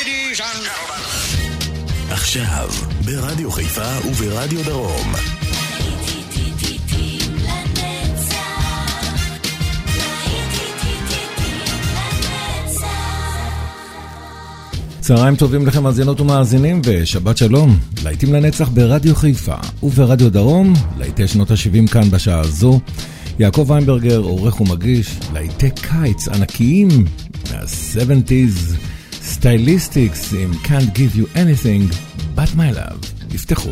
Ladies and gentlemen. עכשיו, ברדיו חיפה וברדיו דרום. צהריים טובים לכם מאזינות ומאזינים ושבת שלום. להיטים לנצח ברדיו חיפה וברדיו דרום, להיטי שנות ה-70 כאן בשעה הזו. יעקב ויינברגר עורך ומגיש להיטי קיץ ענקיים מה-70s סטייליסטיקס עם Can't Give You Anything But My Love. תפתחו.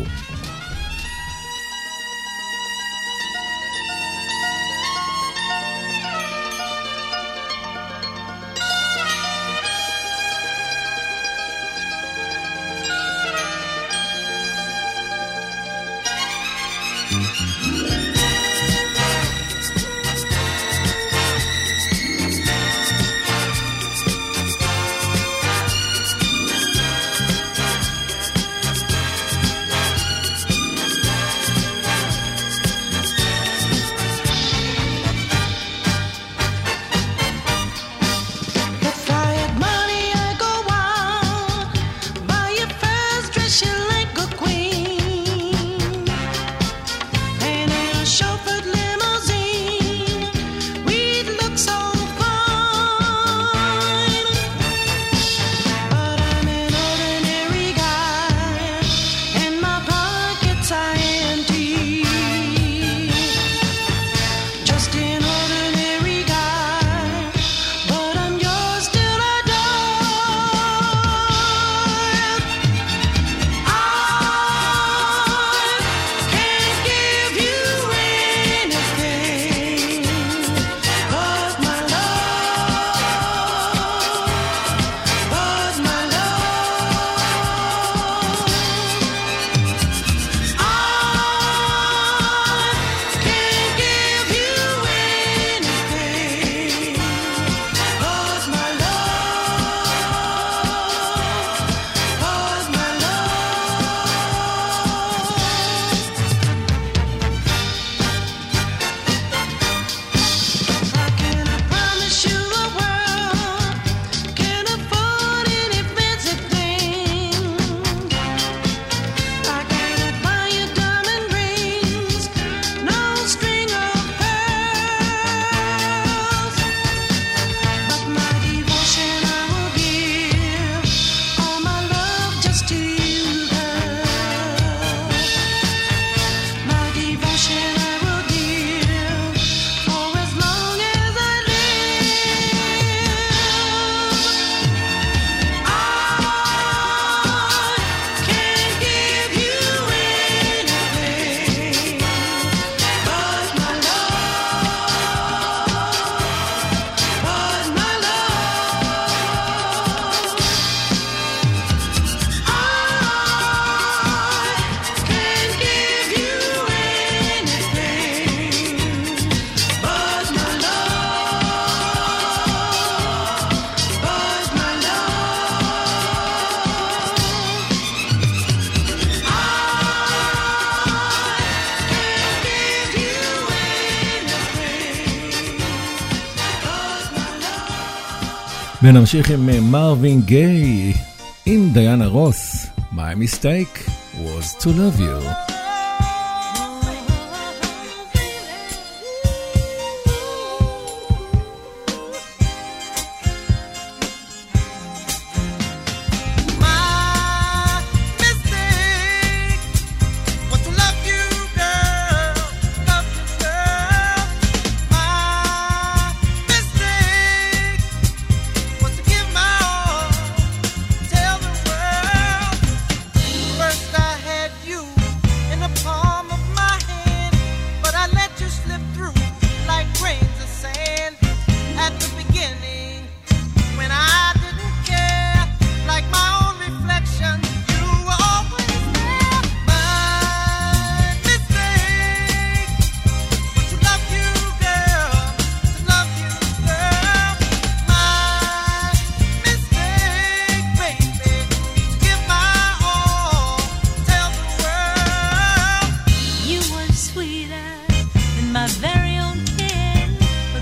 ונמשיך עם מרווין גיי עם דיאנה רוס. My mistake was to love you.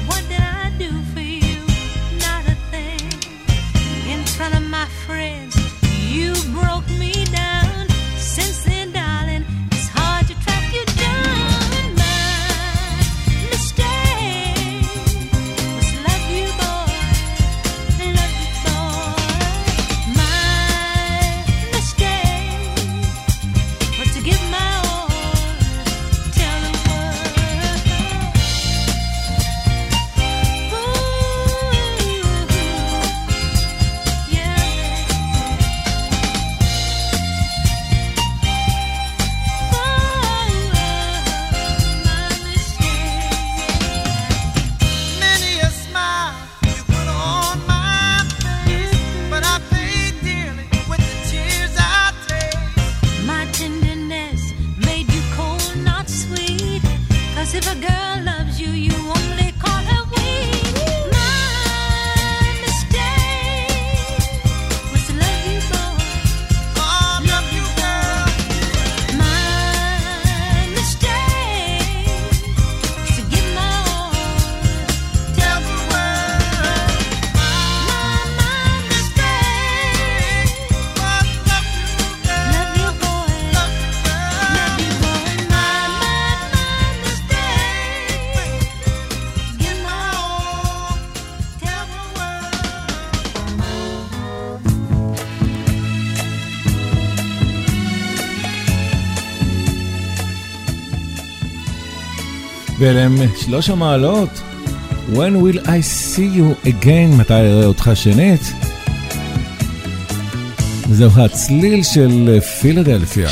front of my friends. ואלה הם 3 המעלות. When will I see you again? מתי אראה אותך שנית? וזהו הצליל של פילדלפיה.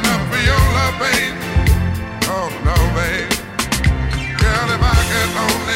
Only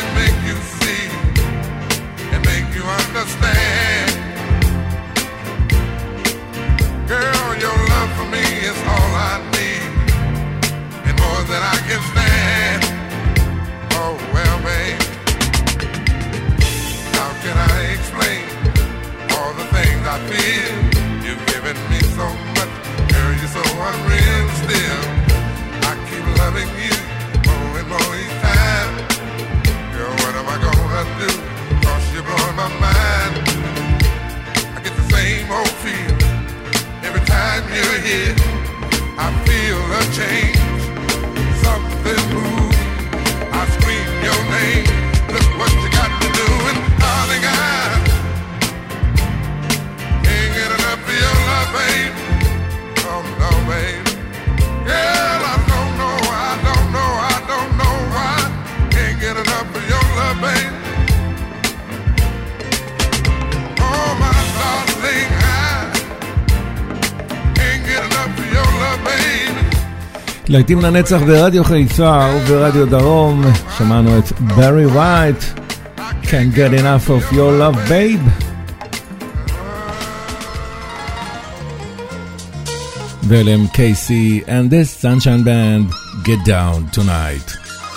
להיטים לנצח ברדיו חיפה וברדיו דרום. שמענו את ברי ווייט, Can't get enough of your love babe. ואלם קייסי and the Sunshine Band, Get Down Tonight.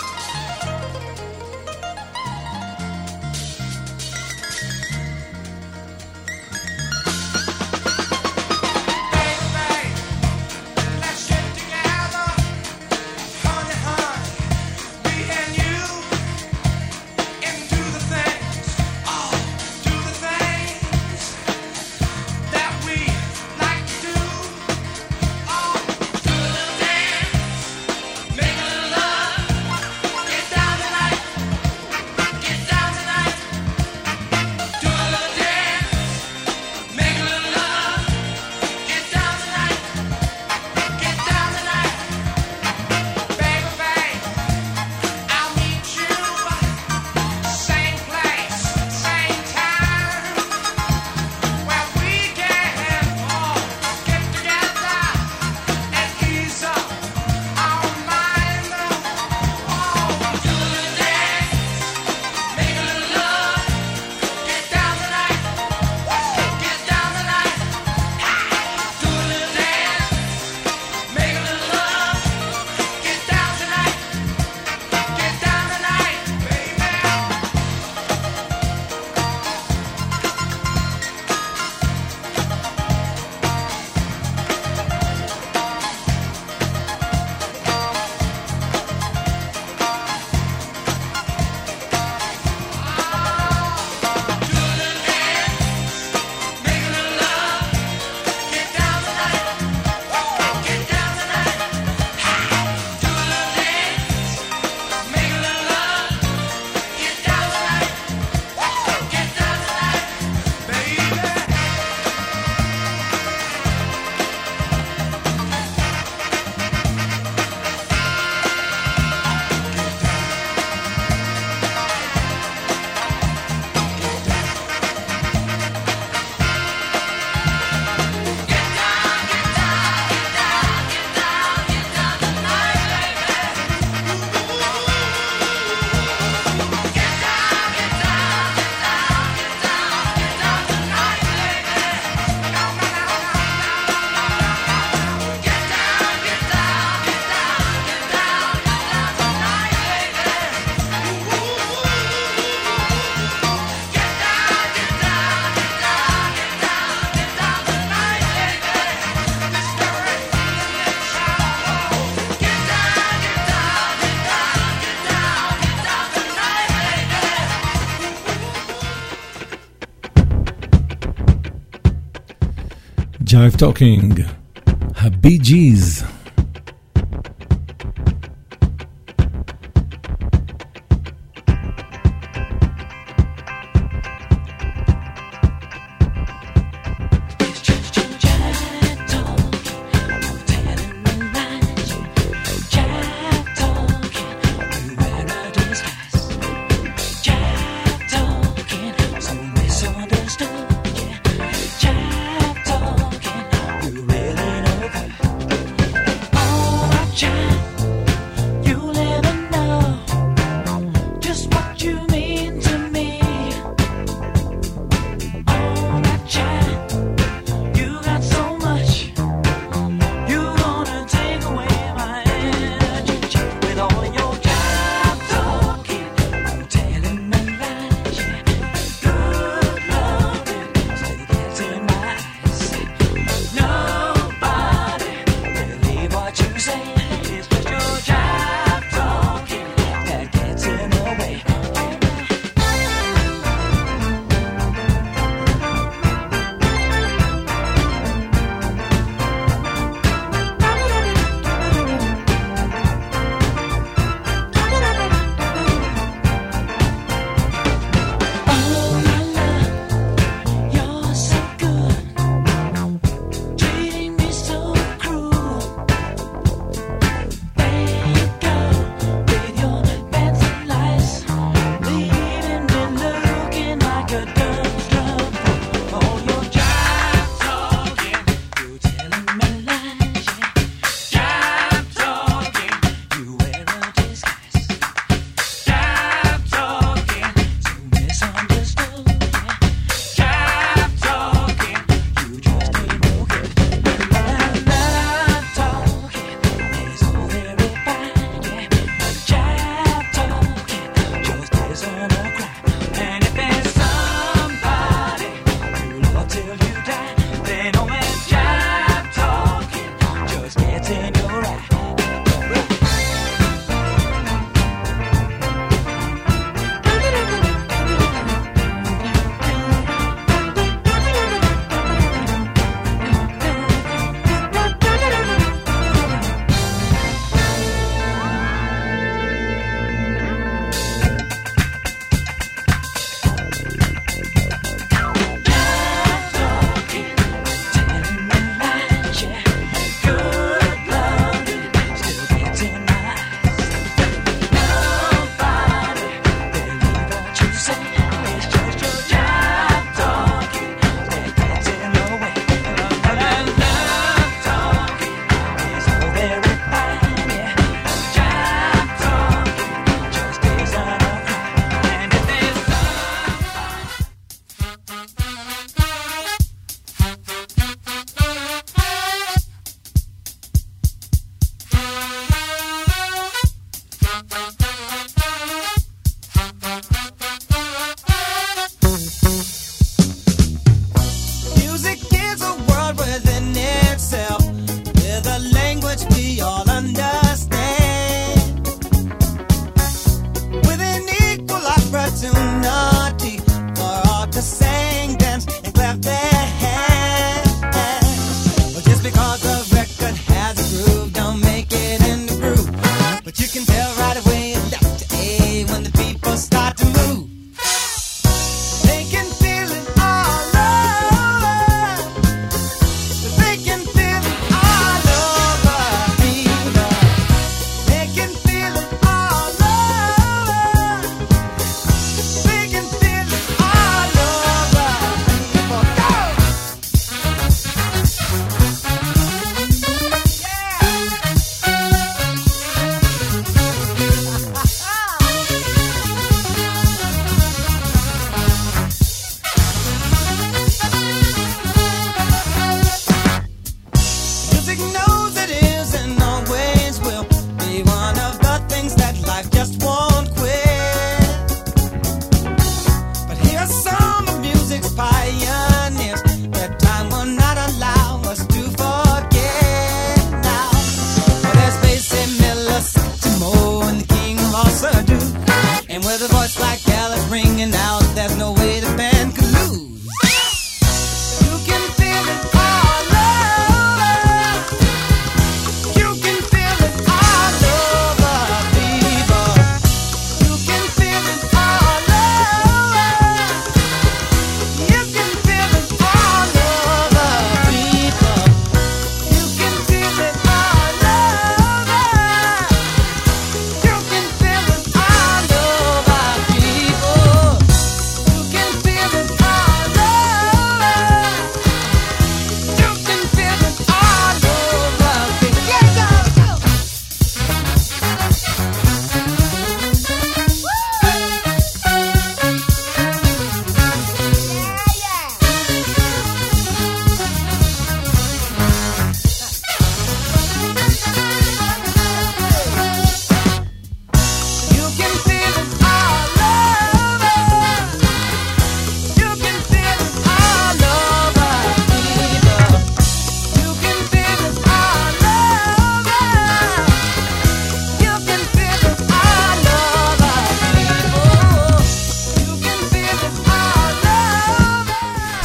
Jive Talking, ה-Bee Gees.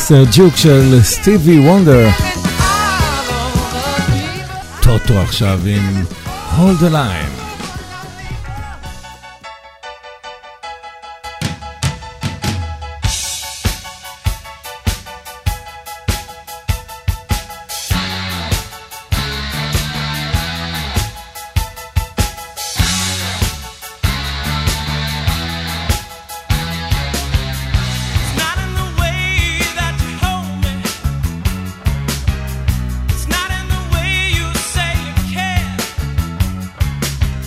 מיסטר ג'וק של סטיבי וונדר. טוטו עכשיו עם Hold the Line. It's not in the way you say you care.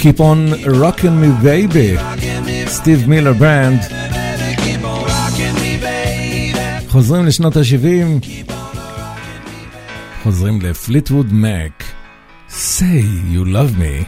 Keep on Rockin' Me Baby, סטיב מילר ברנד. חוזרים לשנות ה-70, חוזרים לפליטווד מק, Say You Love Me.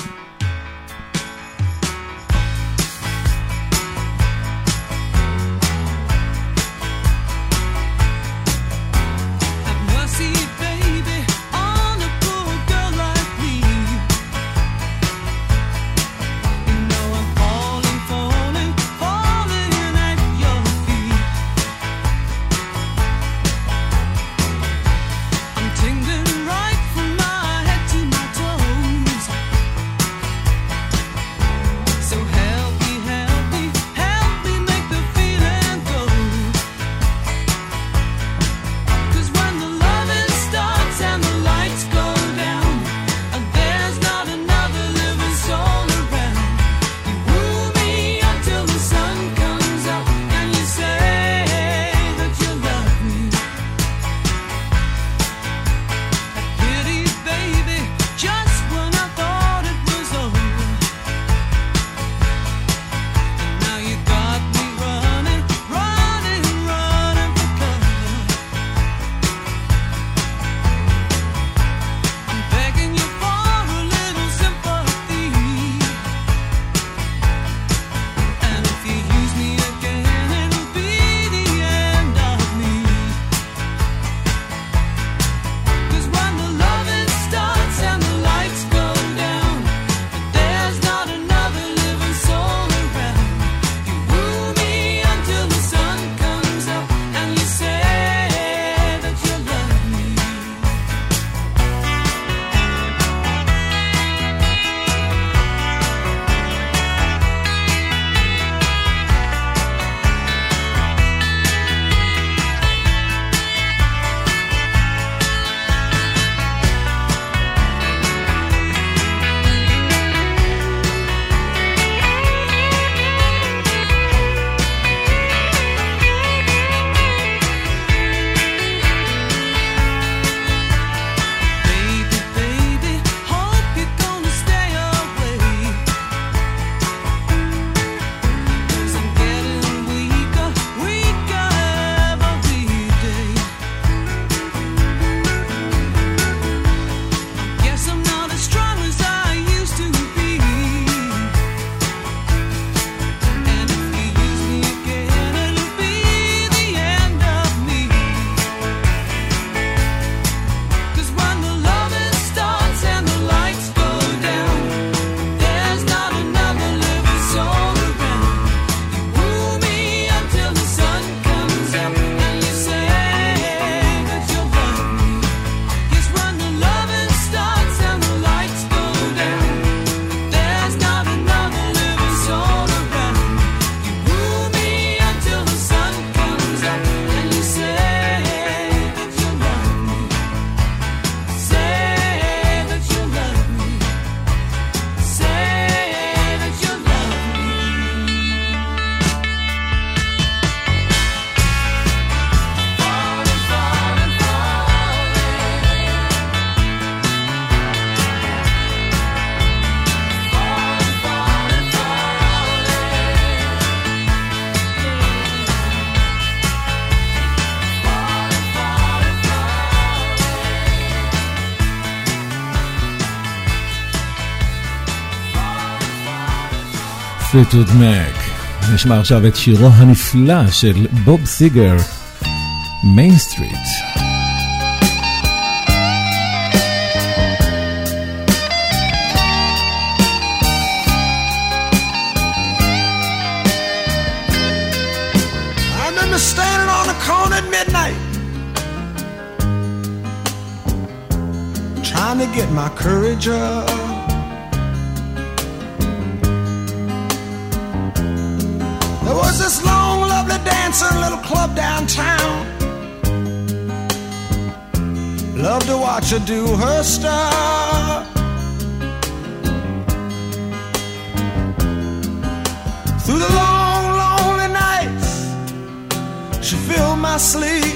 פליטווד מק. נשמע עכשיו את שירו הנפלא של בוב סיגר, מיין סטריט. Standing on a corner at midnight, trying to get my courage up. There was this long, lovely dancer in a little club downtown. Loved to watch her do her stuff. Through the long, lonely nights, she filled my sleep.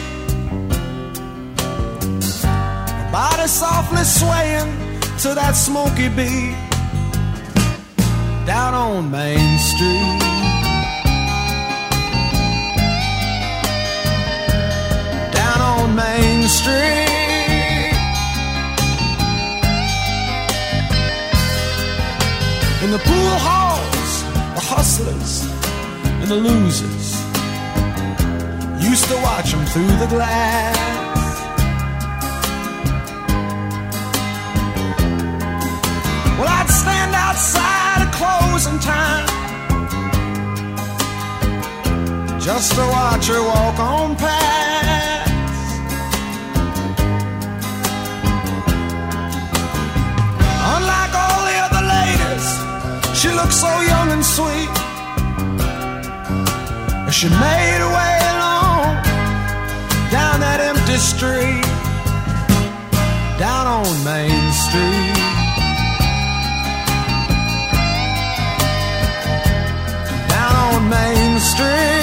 Her body softly swaying to that smoky beat. down on Main Street. Down on Main Street. In the pool halls, the hustlers and the losers used to watch them through the glass. Well, I'd stand outside at closing time just to watch her walk on past. Unlike all the other ladies, she looked so young and sweet. She made her way along down that empty street, down on Main Street. Main Street.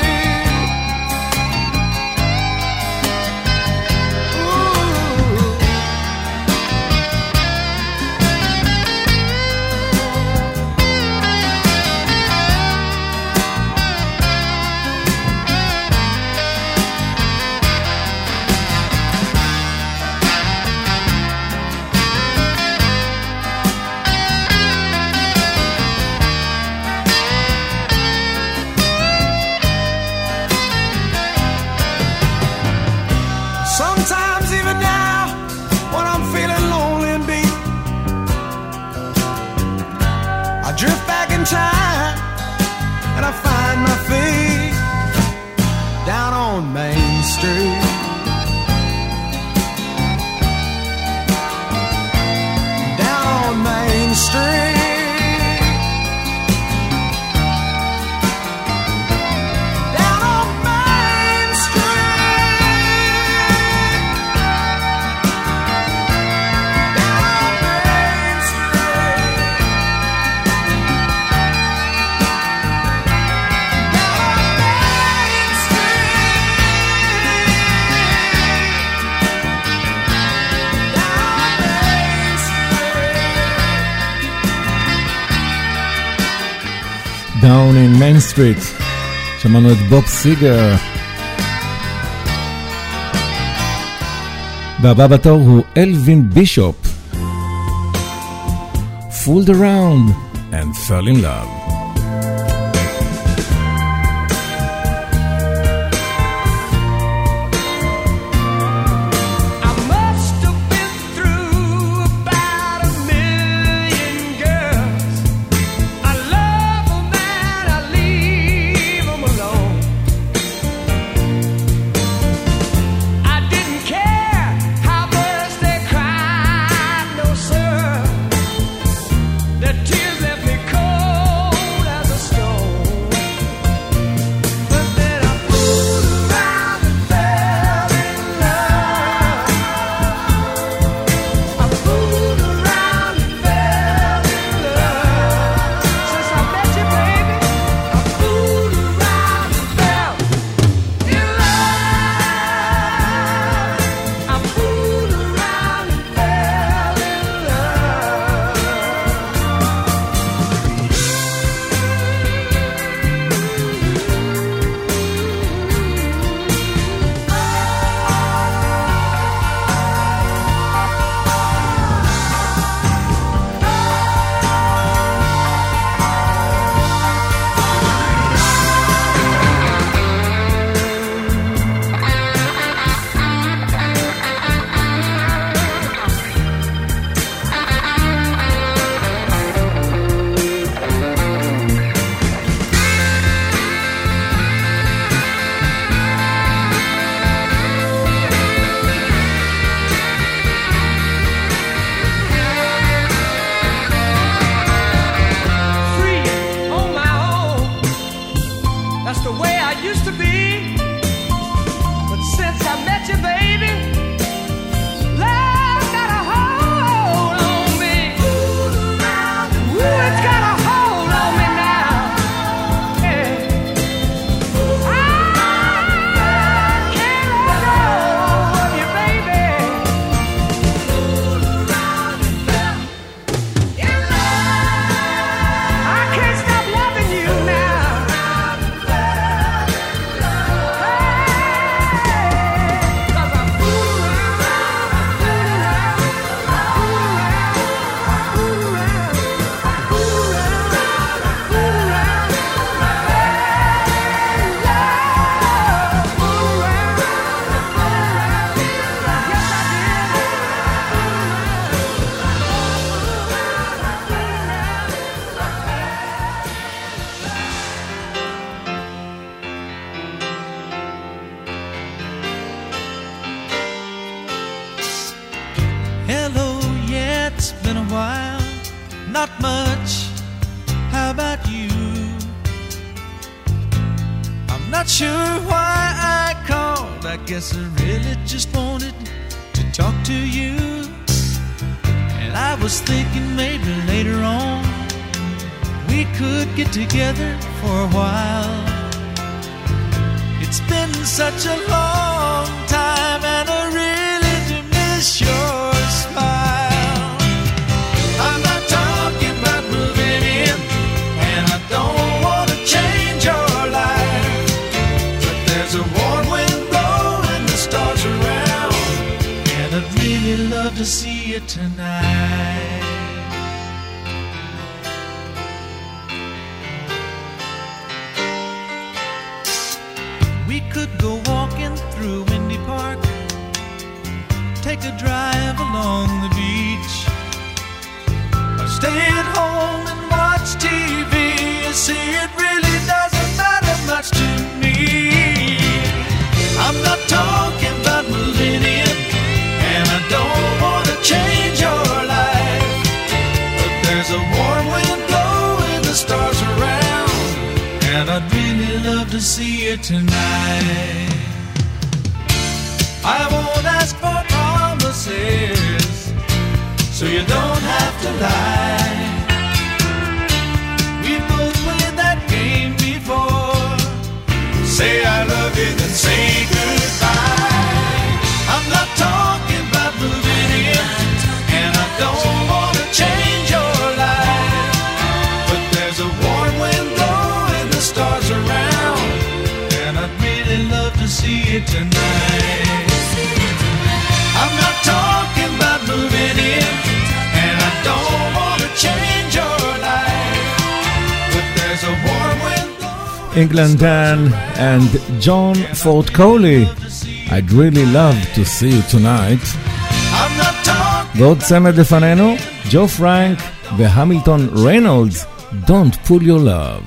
Sometimes even now, when I'm feeling lonely and beat, I drift back in time and I find my feet down on Main Street. Down on Main Street. Down in Main Street. שמענו את בוב סיגר. והבא בתור הוא אלווין בישופ. Fooled around and fell in love. Tears left me cold. not much. How about you? I'm not sure why I called. I guess I really just wanted to talk to you. And I was thinking maybe later on we could get together for a while. It's been such a long time and I really do miss your smile. I'm not talking about moving in, and I don't want to change your life, but there's a warm wind blowing the stars around, and I'd really love to see you tonight. We could go walking through Windy Park, take a drive along the beach, or stay at home and watch TV. You see, it really doesn't matter much to me. I'm not talking about moving in, and I don't want to change your life, but there's a warm wind blowing the stars around, and I'd really love to see you tonight. I won't ask for promises, so you don't have to lie. We both played that game before. Say I love you, then say goodbye. I'm not talking about moving in, and I don't want to change your life, but there's a warm wind blowing the stars around, and I'd really love to see you tonight. I'm not talking about moving in, and I don't want to change your life, but there's a warm wind blowing. England Dan and John Fort Coley. I'd really love to see you tonight. I'm not talking. ועוד צמד לפנינו, ג'ו פרנק והמילטון ריינולדס, Don't Pull Your Love.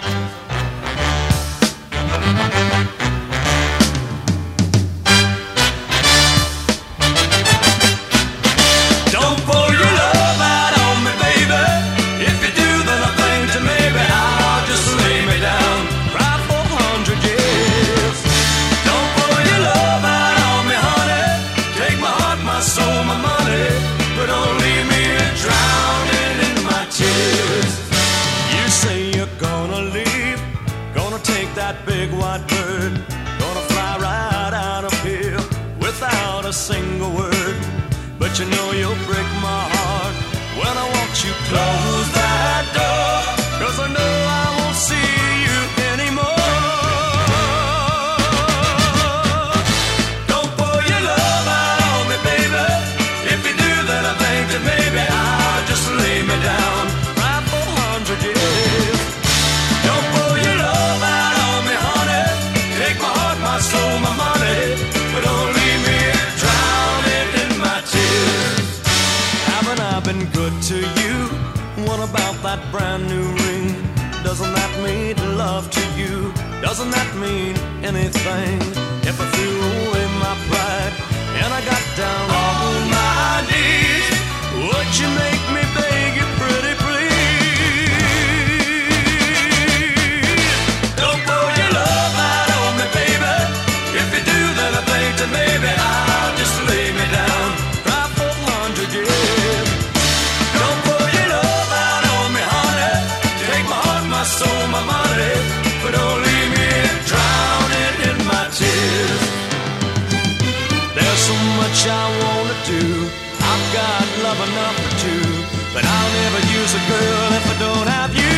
Don't pull your love out on me, baby. If you do, then I think that maybe I'll just lay me down, cry for 100 years. Don't pull your love out on me, honey. Take my heart, my soul, my money, but don't leave me drowning in my tears. You say you're gonna leave, gonna take that big white bird, gonna fly right out of here without a single word. But you know you'll break my heart when I watch you close that door, 'cause I know I won't see you anymore. Don't pour your love out on me, baby. If you do, then I think that maybe I'll just lay me down, cry for 100 years. Don't pour your love out on me, honey. Take my heart, my soul, my money, but don't leave me drowning in my tears. Haven't I been good to you? What about that brand new ring? Doesn't that mean love to you? Doesn't that mean anything? If I threw away my pride and I got down on my knees, would you make me beg you pretty please? Don't pour your love out on me, baby. If you do, then I think that maybe I'll just lay me down, cry for 100 years. Don't pour your love out on me, honey. Take my heart, my soul, my money, but don't leave me drowning in my tears. There's so much I wanna do. I've got love enough for two, but I'll never use a girl if I don't have you.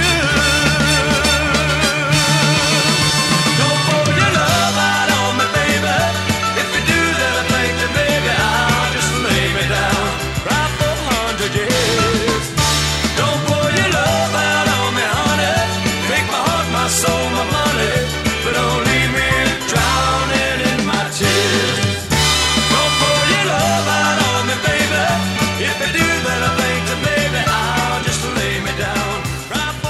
Don't pour your love out on me, baby. If you do, then I think that maybe I'll just lay me down, cry for 100 years. Don't pour your love out on me, honey. Take my heart, my soul, my money, but don't leave me drowning in my tears. Don't pour your love out on me, baby. If you do, then I think that maybe I'll just lay me down, cry for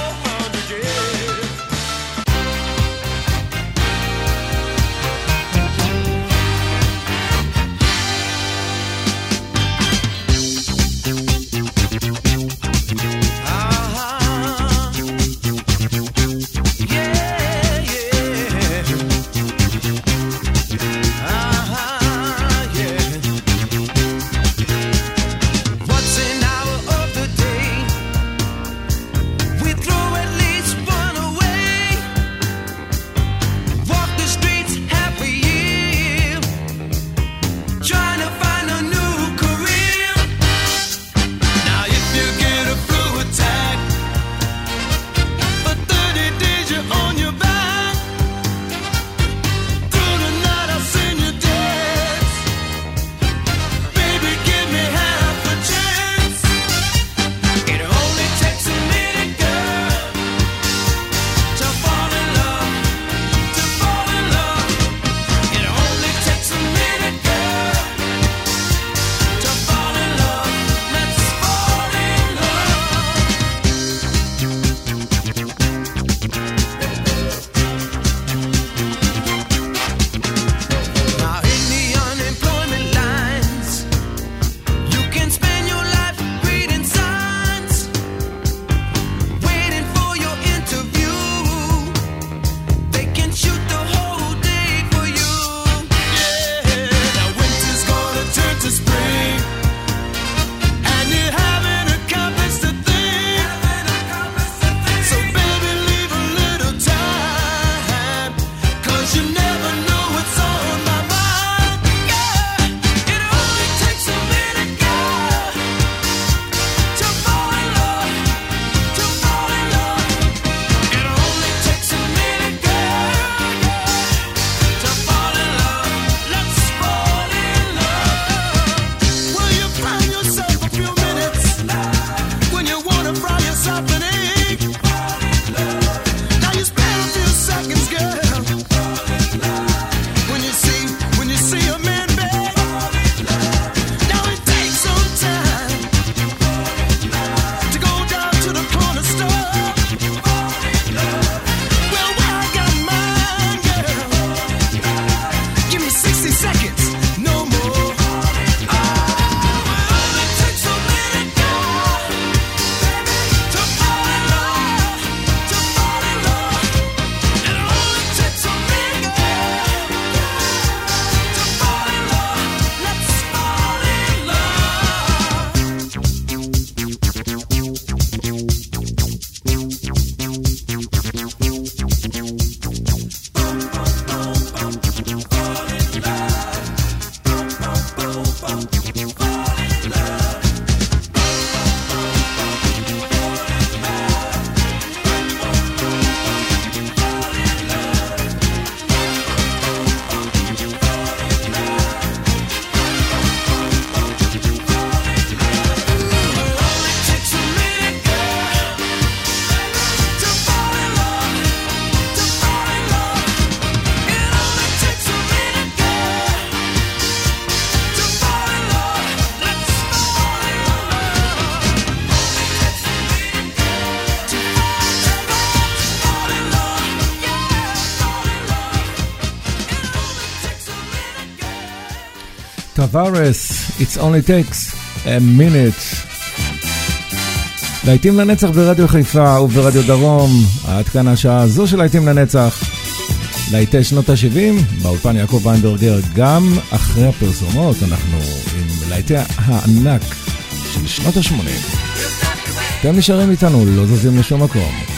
טווארס, It's only takes a minute. להיטים לנצח ברדיו חיפה וברדיו דרום, עד כאן השעה הזו של להיטים לנצח. להיטי שנות ה-70, באולפן יעקב ויינברגר, גם אחרי הפרסומות אנחנו עם להיטי הענק של שנות ה-80. אתם נשארים איתנו, לא זזים לשום מקום.